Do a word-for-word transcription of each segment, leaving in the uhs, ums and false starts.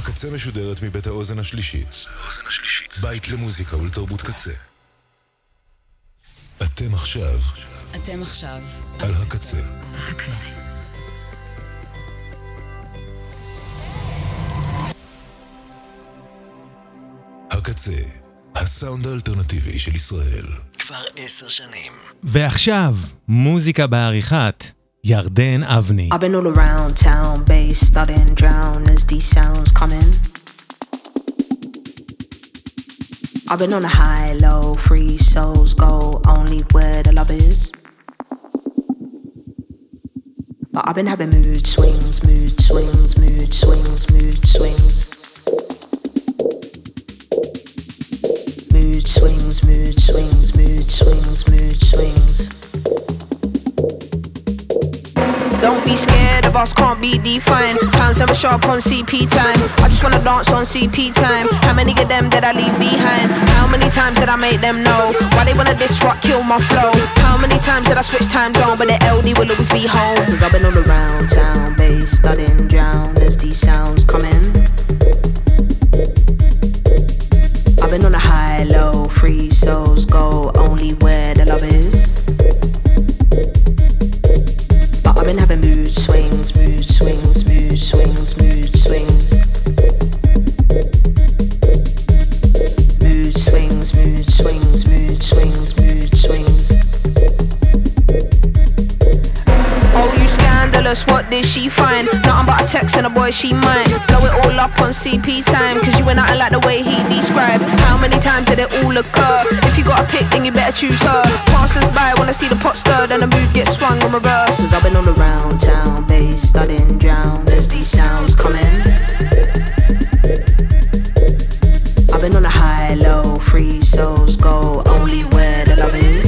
הקצה משודרת מבית האוזן השלישית. בית למוזיקה ולתרבות קצה. אתם עכשיו. אתם עכשיו. על הקצה. הקצה. הקצה. הסאונד האלטרנטיבי של ישראל. כבר עשר שנים. ועכשיו, מוזיקה בעריכת ירדן אבני. I've been all around town, bass starting drown as these sounds coming. I've been on a high, low, free souls go only where the love is. But I've been having mood swings, mood swings, mood swings, mood swings. Mood swings, mood swings, mood swings, mood swings. Don't be scared of us, can't be defined. Pounds never show up on C P time. I just wanna dance on C P time. How many of them did I leave behind? How many times did I make them know? Why they wanna disrupt, kill my flow? How many times did I switch time zone? But the L D will always be home. Cause I've been all around town, bass studying drown as these sounds come in. I've been on a high, low, free souls go only where the love is. But I've been having mood swings, mood swings, mood swings, mood swings. Mood swings, mood swings, mood swings, mood swings. Oh, you scandalous, what did she find? Nothing but a text and a boy she might blow it all up on C P time. Cause you ain't nothing like the way he described. How many times did it all occur? If you got a pick, then you better choose her. Passers by wanna see the pot stirred and the mood gets swung on reverse. Cause I've been all around town, bass studying drown as these sounds come in. I've been on a high, low, free souls go only where the love is.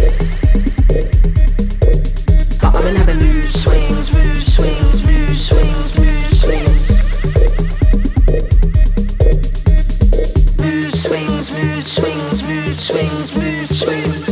But I've been having mood swings, mood swings, mood swings, mood swings. Mood swings, mood swings, mood swings, mood swings.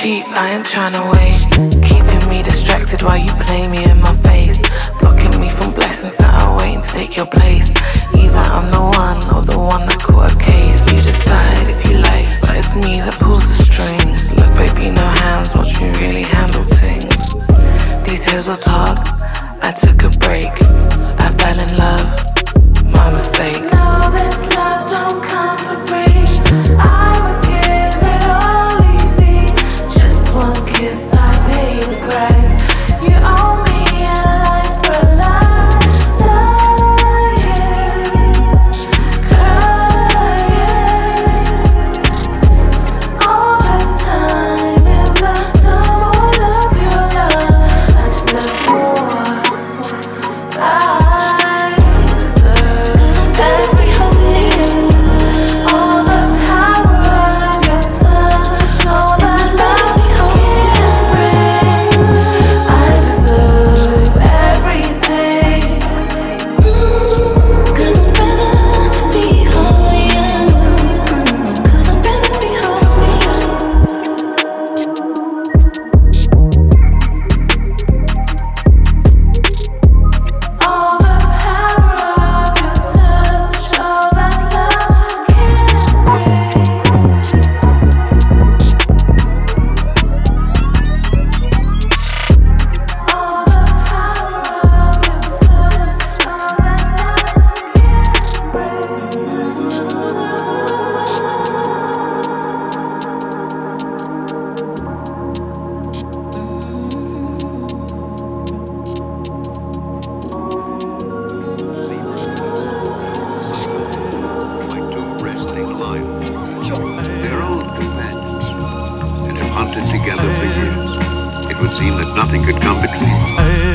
cheap, I ain't tryna wait. Keeping me distracted while you play me in my face. Blocking me from blessings that are waiting to take your place. Either I'm the one or the one that caught a case. You decide if you like, but it's me that pulls the strings. Look baby, no hands, watch me really handle things. These hills will talk, I took a break. I fell in love, my mistake. No, this love don't come for free. I would give it all easy. Just one kiss, I pay the price. You owe me a life for life. Lying, crying. All this time in the tumble of your love, I just love more. I deserve every holy you. All the power of your touch, all that love can bring. I deserve everything. Cause I'd rather be holy you. Cause I'd rather be holy All the power of your touch, all that love can bring. All the power of your touch, all Like two wrestling lions. They're old companions and have hunted together for years. It would seem that nothing could come between them.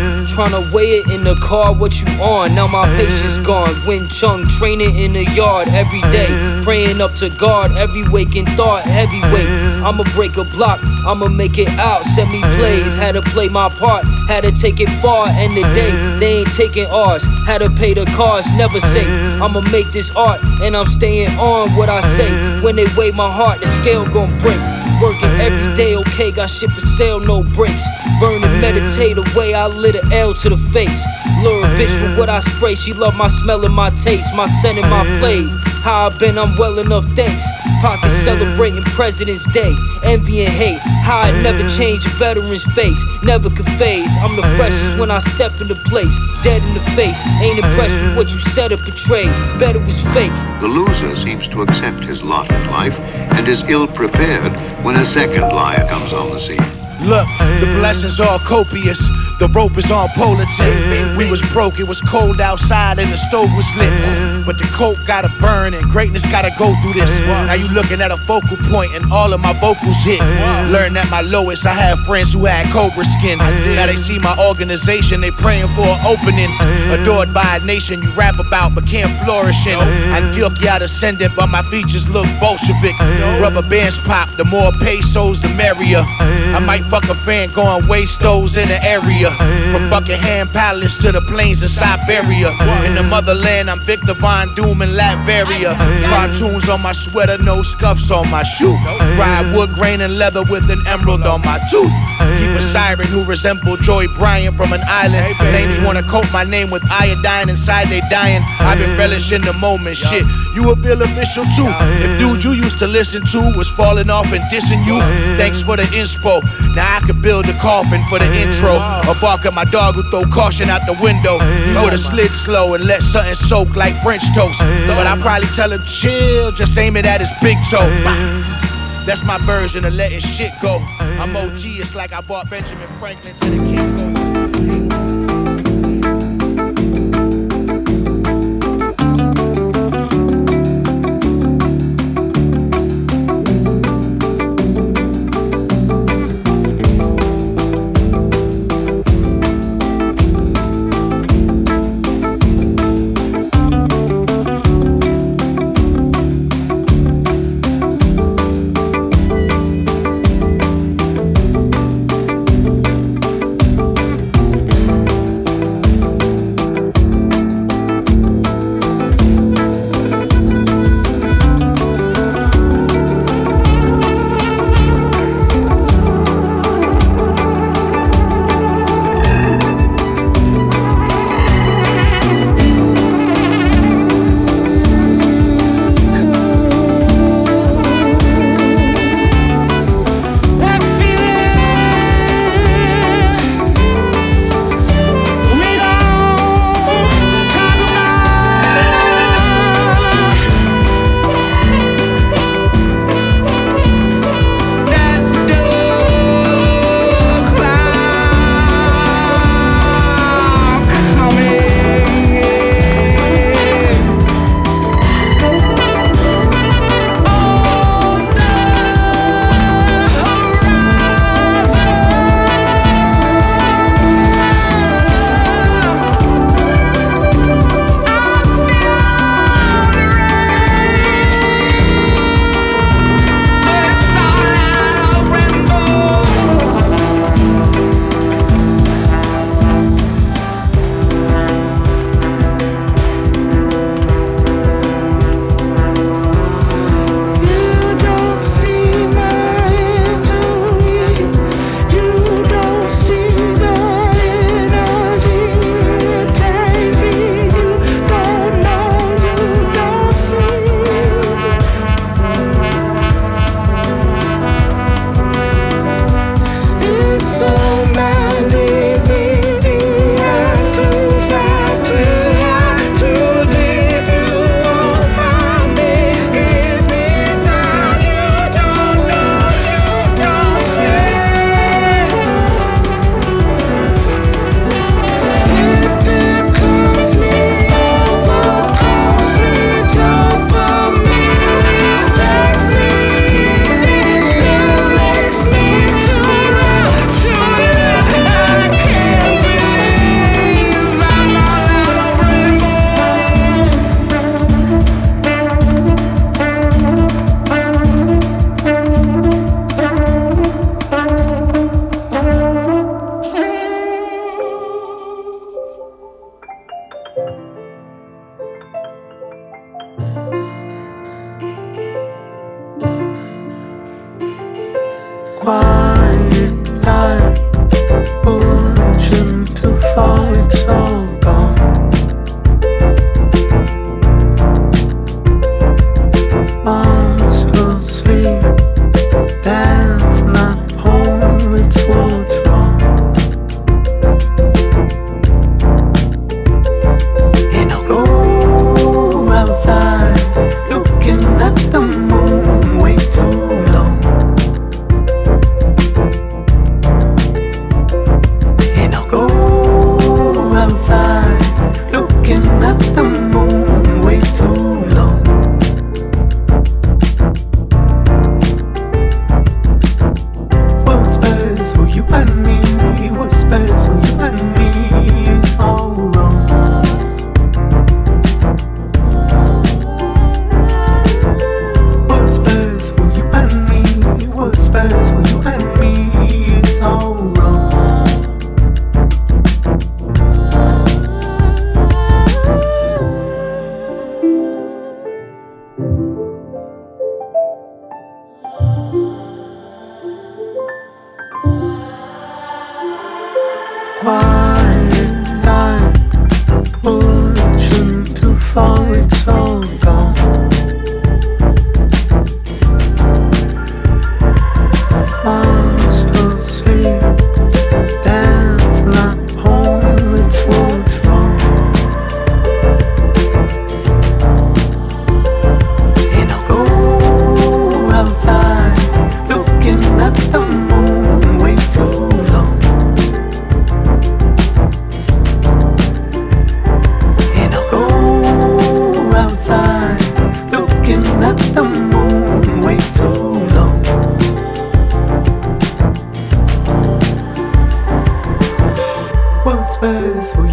Tryna weigh it in the car, what you on? Now my patience gone. Win Chung, training in the yard every day. Praying up to God, every waking thought, heavyweight. I'ma break a block, I'ma make it out. Send me plays, had to play my part, had to take it far. End the day, they ain't taking ours. Had to pay the cost, never safe. I'ma make this art, and I'm staying on what I say. When they weigh my heart, the scale gon' break. Working every day, okay, got shit for sale, no breaks. Burn and meditate away, I lit an L to the face. Lure a bitch with what I spray, she love my smell and my taste, my scent and my flavor. How I been, I'm well enough, thanks. Pockets celebrating President's Day, envy and hate. How I never change a veteran's face, never could phase. I'm the freshest when I step into place, dead in the face. Ain't impressed with what you said or portrayed, bet it was fake. The loser seems to accept his lot in life and is ill-prepared when a second liar comes on the scene. Look, the blessings are copious. The rope is on polar tip. We was broke, it was cold outside and the stove was lit. But the coke gotta burn and greatness gotta go through this. Now you looking at a focal point and all of my vocals hit. Learned at my lowest, I had friends who had cobra skin. Now they see my organization, they praying for an opening. Adored by a nation you rap about but can't flourish in. Antioquia descendant but my features look Bolshevik. Rubber bands pop, the more pesos the merrier. I might fuck a fan going waste those in the area. From Buckingham Palace to the plains in Siberia. In the motherland, I'm Victor Von Doom in Latveria. Cartoons on my sweater, no scuffs on my shoe. Ride wood grain and leather with an emerald on my tooth. Keep a siren who resemble Joy Bryant from an island. Names wanna coat my name with iodine, inside they dying. I've been relishing the moment, shit. You a bill official too. If dudes you used to listen to was falling off and dissing you, thanks for the inspo. Now I could build a coffin for the intro. Or bark at my dog who throw caution out the window. You would've slid slow and let something soak like French toast. But I probably tell him chill, just aim it at his big toe. That's my version of letting shit go. I'm O G, it's like I bought Benjamin Franklin to the Kinko's.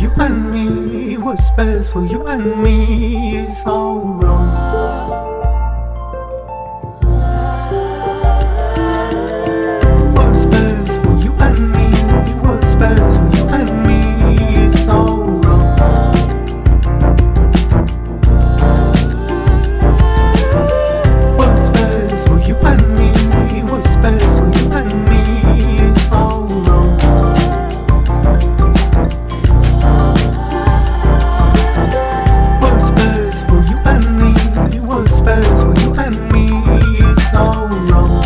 you and me. What's best for you and me is all wrong. What's best for you and me? What's best for you and me is all wrong. What's best for you and me? What's best for you and me is all wrong. What's best for you and me? What's best for you and me is all wrong.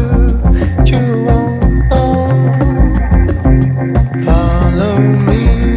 Follow me.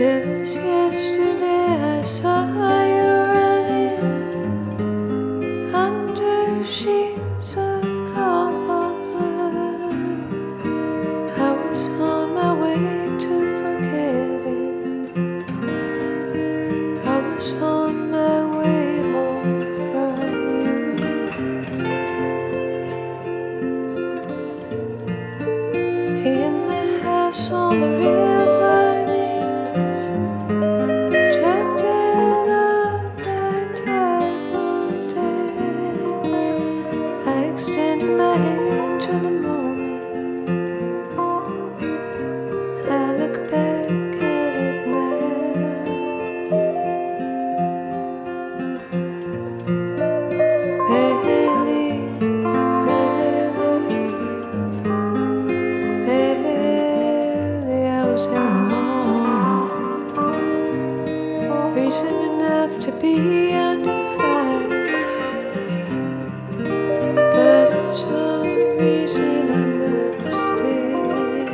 Just yesterday I saw you running under sheets of cobalt blood. I was on my way to forgetting. I was on my way home from you. In the house on the river, extending my hand to the moment. I look back at it now. Barely, barely, barely I was hanging on. Reason enough to be under fire. Some reason I must stay.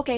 Okay.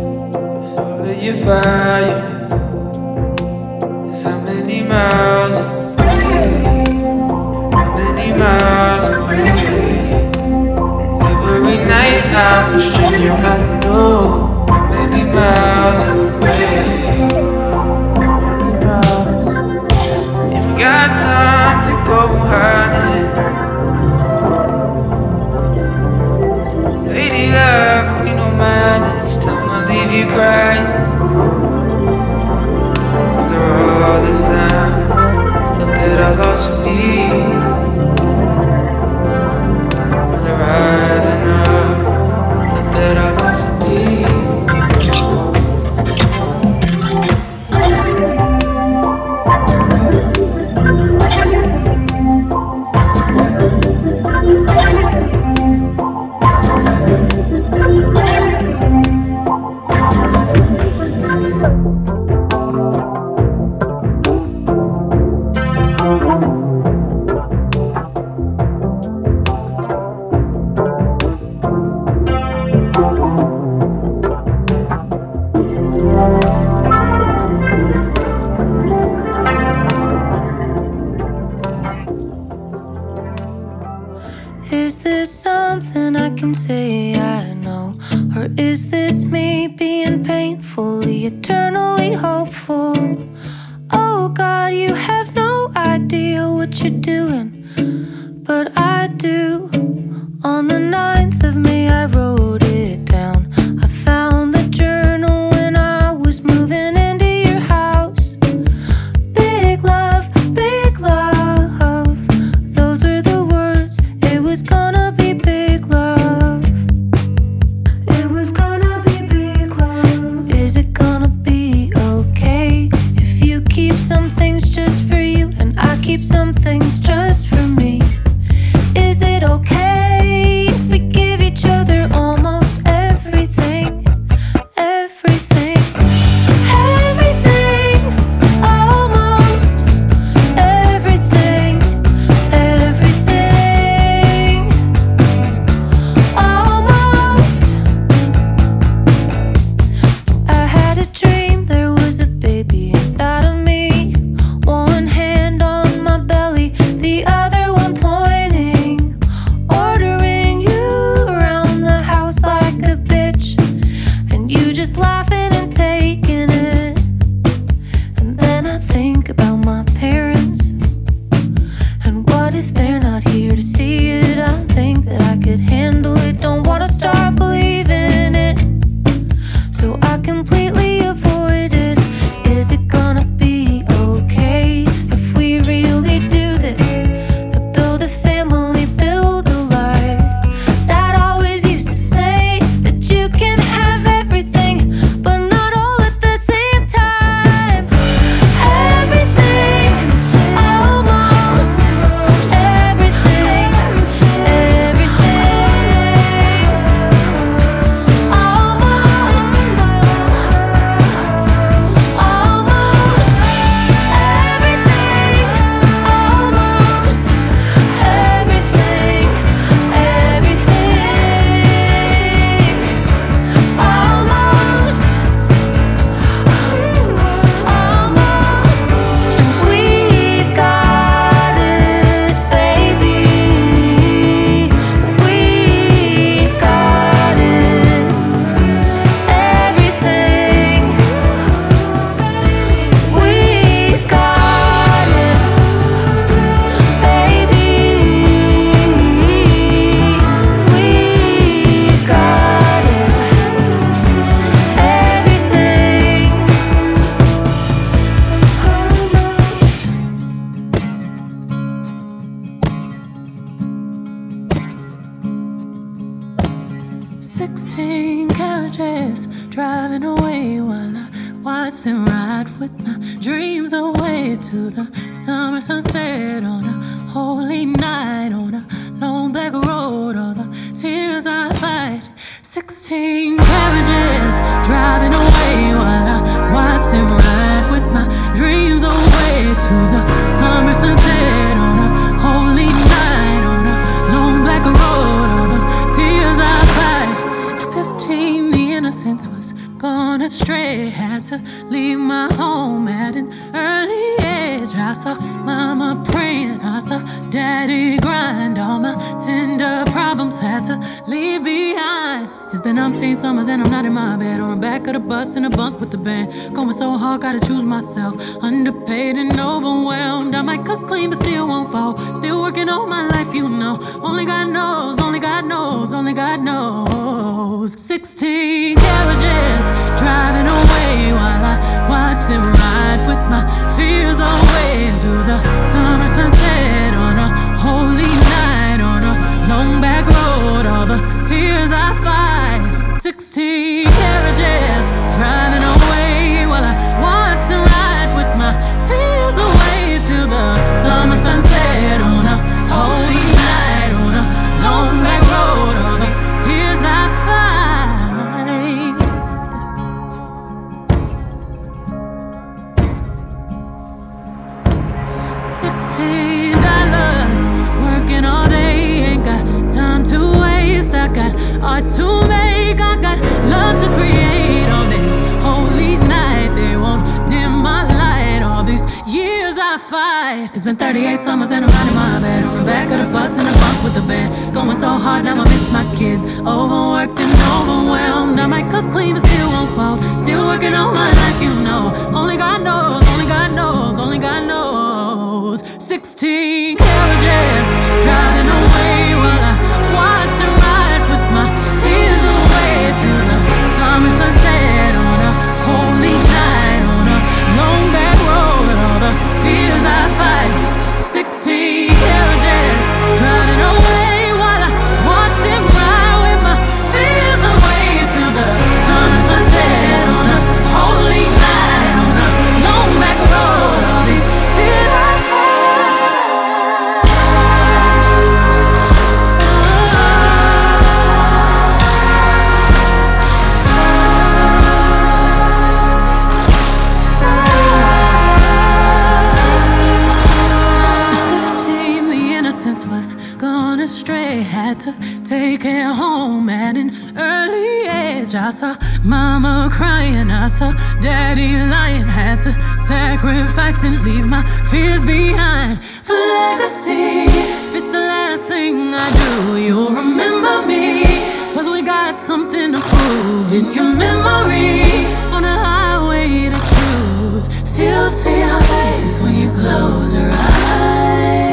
Fire. How many miles can say I know? Or is this me being painfully, eternally hopeful? Oh God, you have no idea what you're doing, but I do. On the ninth of May I wrote it down. I found the journal when I was moving into your house. Big love, big love, those were the words. It was gonna be big love. It was gonna be big love. Is it gonna be okay if you keep some things just for you and I keep some things just for me? Is it okay if we give each other almost everything? Everything, everything, almost everything, everything, almost. I had a dream there was a baby inside of me, one hand on my belly, the other one pointing, ordering you around the house like a bitch, and you just laughing and taking it. And then I think about my parents, and what if they're not here to see it? I think that I could handle it, don't wanna start believing it, so I completely avoid it. Is it gonna be okay if we really do this? Build a family, build a life. Dad always used to say that you can have everything, but not all at the same time. Everything, almost everything, everything, almost, almost everything, almost everything, everything, almost, almost. We've got it, baby. We've got it, everything. We've got it, baby. We've got it, everything. Sixteen carriages driving away while I watch them ride with my dreams away to the summer sunset on a holy night on a long black road. All the tears I fight. Sixteen carriages driving away while I watch them ride with my dreams away to the summer sunset on a holy night on a long black road. All the tears I fight. At fifteen, the innocence was gone astray. Had to leave my home at an early age. I saw mama praying, I saw daddy grind. All my tender problems had to leave behind. It's been umpteen summers and I'm not in my bed, on the back of the bus in a bunk with the band. Going so hard, gotta choose myself. Underpaid and overwhelmed. I might cook clean but still won't fall. Still working all my life, you know. Only God knows, only God knows, only God knows. Sixteen carriages driving away while I watch them ride with my fears away to the summer sunset on a holy night on a long back road. All the tears I fight. Sixteen carriages driving away while I watch them ride with my fears away to the summer sunset on a holy night on a long back road. All the tears I fight. Sixteen dollars working all day, ain't got time to waste. I got art to make, I got love to create. On this holy night, they won't dim my light. All these years I I fight. It's been thirty-eight summers and I'm riding my bed on the back of the bus in the bunk with the band. Going so hard, now I miss my kids. Overworked and overwhelmed. I might cook clean, but still won't fall. Still working on my life, you know. Only God knows, only God knows, only God knows. Sixteen carriages driving away while I watched her ride with my fears away to the summer sunset on a holy night on a long back road. All the tears I fight. Sixteen carriages driving away while I watched them ride with my fears away to the summer sunset on a holy night on a long back road. All these tears I fight. Astray, had to take it home at an early age. I saw mama crying, I saw daddy lying. Had to sacrifice and leave my fears behind for legacy. If it's the last thing I do, you'll remember me, cause we got something to prove in your memory. On a highway to truth, still see our faces when you close your eyes.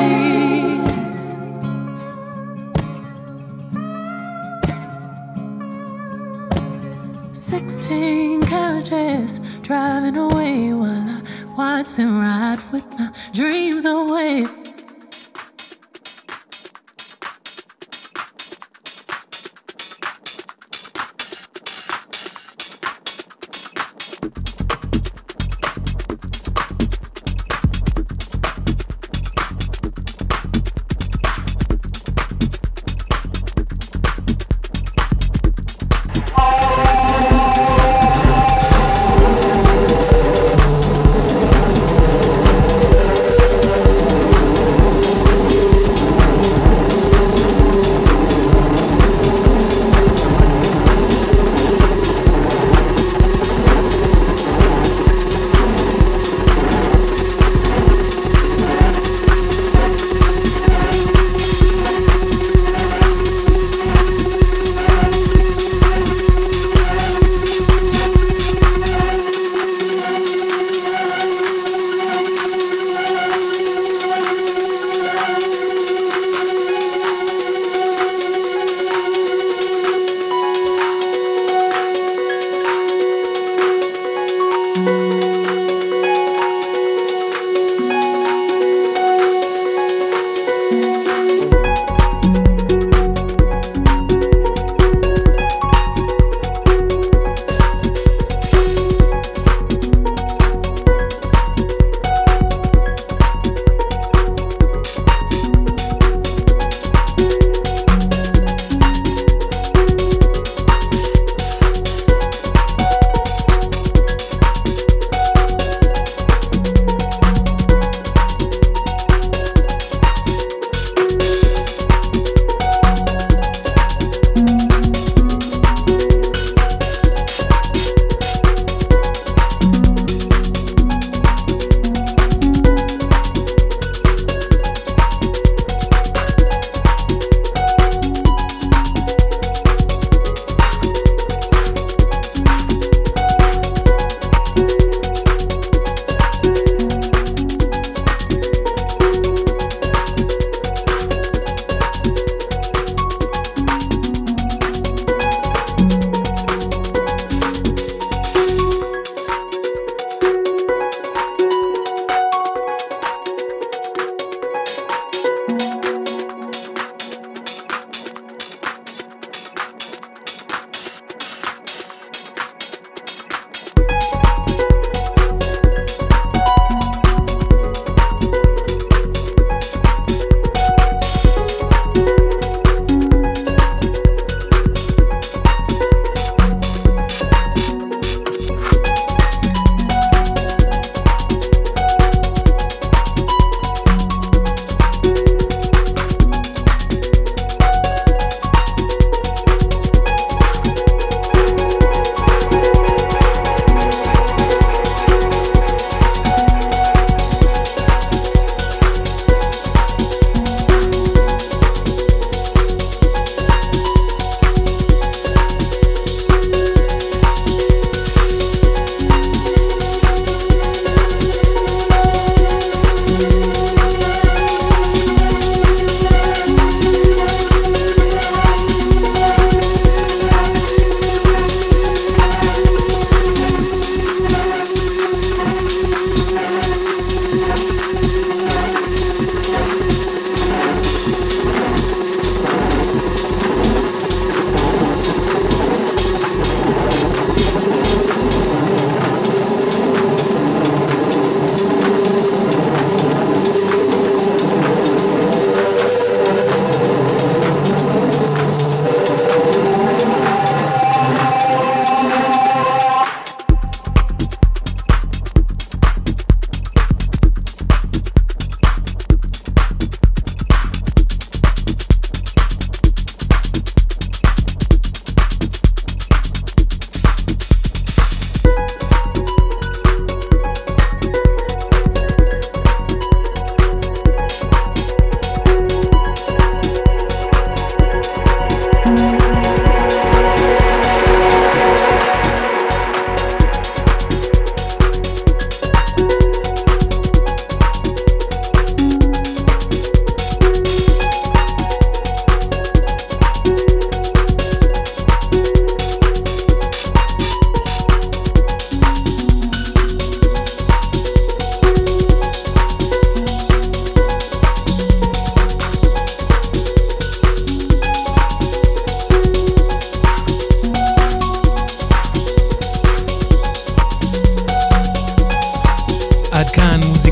Sixteen carriages driving away while I watch them ride with my dreams away. Oh,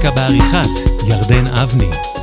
מוזיקה בעריכת ירדן אבני.